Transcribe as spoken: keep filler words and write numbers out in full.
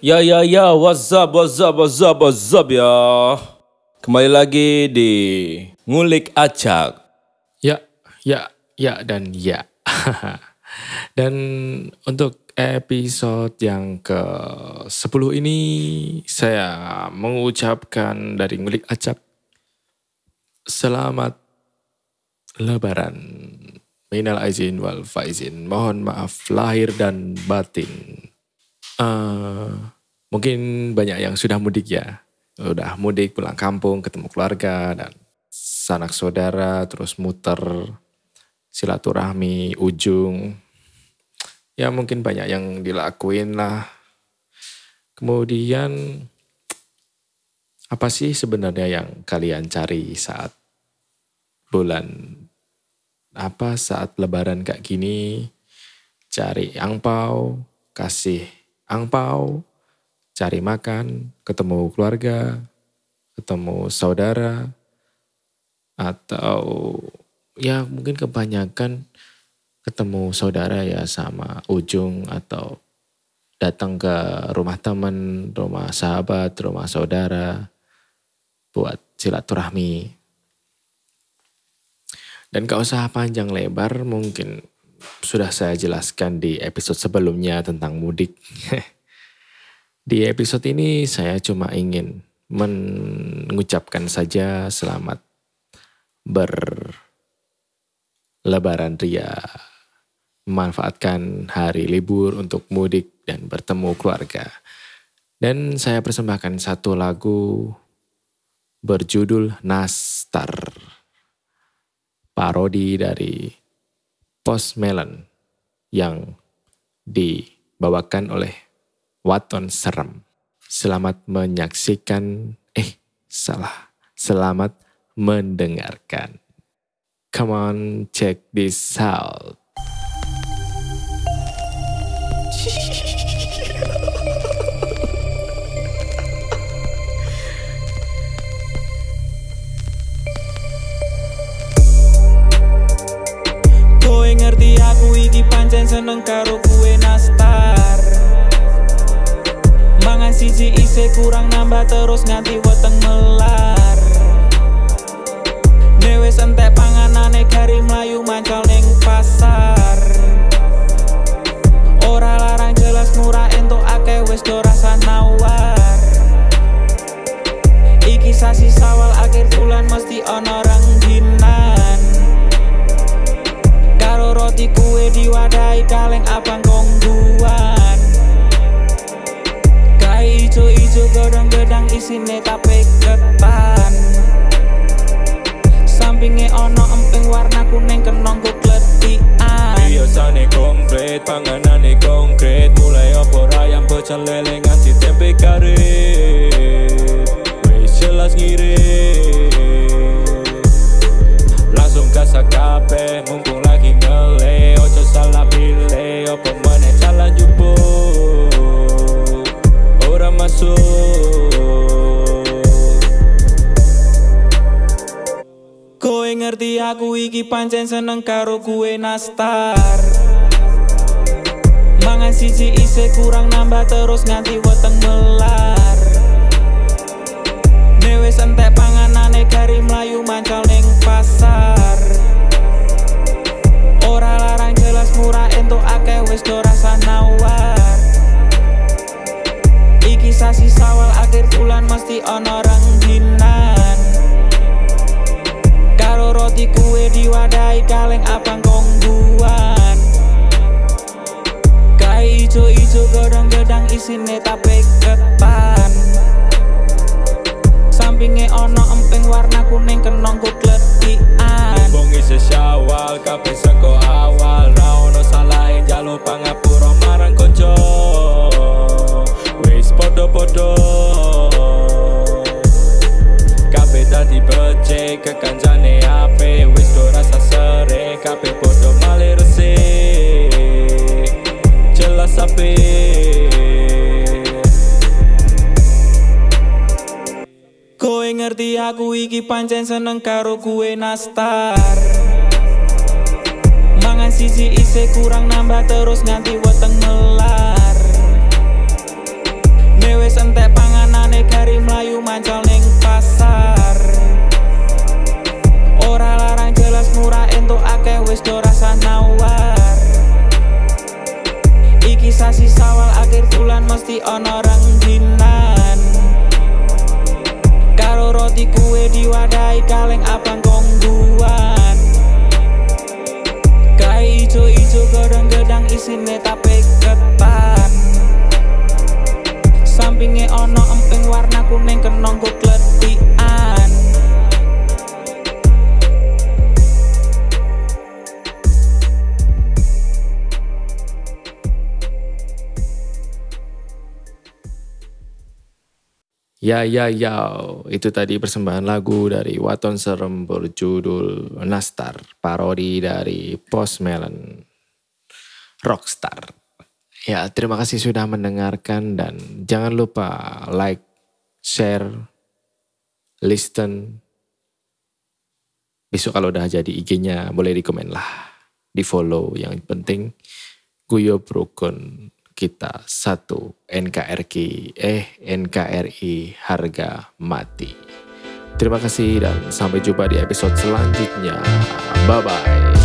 Ya ya ya, what's up, what's up, what's up, what's up ya. Kembali lagi di Ngulik Acak. Ya, ya, ya dan ya. Dan untuk episode yang ke sepuluh ini saya mengucapkan dari Ngulik Acak selamat Lebaran. Minal aizin wal faizin. Mohon maaf lahir dan batin. Uh, mungkin banyak yang sudah mudik ya. Udah mudik pulang kampung, ketemu keluarga dan sanak saudara, terus muter silaturahmi ujung. Ya mungkin banyak yang dilakuin lah. Kemudian apa sih sebenarnya yang kalian cari saat bulan apa saat lebaran kayak gini? Cari angpau, kasih angpau, cari makan, ketemu keluarga, ketemu saudara, atau ya mungkin kebanyakan ketemu saudara ya sama ujung atau datang ke rumah teman, rumah sahabat, rumah saudara buat silaturahmi. Dan gak usah panjang lebar, mungkin sudah saya jelaskan di episode sebelumnya tentang mudik. Di episode ini saya cuma ingin mengucapkan saja selamat berlebaran ria. Memanfaatkan hari libur untuk mudik dan bertemu keluarga. Dan saya persembahkan satu lagu berjudul Nastar. Parodi dari Post Malone yang dibawakan oleh Waton Serem. Selamat menyaksikan, eh salah, selamat mendengarkan. Come on, check this out. Ngerti aku iki pancen seneng karo kue nastar. Mangan siji isih kurang nambah terus nganti weteng melar. Ne wis entek panganane gari mlayu mancal ning pasar. Ora larang jelas murah entuk akeh wis do rasa nawar. Iki sasi sawal akhir bulan mesti ana rengginan. Karo roti kue diwadahi kaleng abang kongguan. Kai ijo-ijo godong-gedang isine tape ketan. Sampinge ono emping warna kuning kenong kukletian. Biasane komplit, panganane konkret. Mulai opor ayam pecel lele nganti tempe karet. Wis jelas ngirit. Langsung gasak kabeh mumpung lagi ngele. Ojo salah pilih opo meneh jalan jupuk ora masuk. Kowe ngerti aku iki pancen seneng karo kue nastar. Mangan siji isih kurang nambah terus nganti weteng melar. Ne wis entek panganane gari mlayu mancal ning pasar. Ora larang jelas murah entuk akeh wis do rasa nawar. Iki sasi sawal akhir bulan mesti ana rengginan. Karo roti kue diwadahi kaleng abang kongguan. Kai ijo-ijo godong-gedang isine tape ketan. Sampinge ono emping warna kuning kenong kukletian. Wong isih syawal kabeh saka awal. Ra ono salahe njaluk pangapura marang kanca. Wis padha-padha kabeh dadi becik kekancane ape. Wis do rasa sere kabeh padha malih resik. Jelas ape. Kowe ngerti aku iki pancen seneng karo kue nastar. Mangan siji isih kurang nambah terus nganti weteng melar. Mewes entek panganane gari mlayu mancal ning pasar. Ora larang jelas murah entuk akeh wis do rasa nawar. Iki sasi sawal akhir bulan mesti ono rengginan. Karo roti kue diwadahi kaleng abang kongguan. Kai ijo-ijo godong-gedang isine tape ketan. Sampinge ono emping warna kuning kenong kok kletikan. Ya ya ya, itu tadi persembahan lagu dari Waton Serem berjudul Nastar, parodi dari Post Malone Rockstar. Ya, terima kasih sudah mendengarkan dan jangan lupa like, share, listen. Besok kalau udah jadi I G-nya boleh di komen lah, di follow. Yang penting Guyo Brokon kita satu N K R I eh N K R I harga mati. Terima kasih dan sampai jumpa di episode selanjutnya. Bye bye.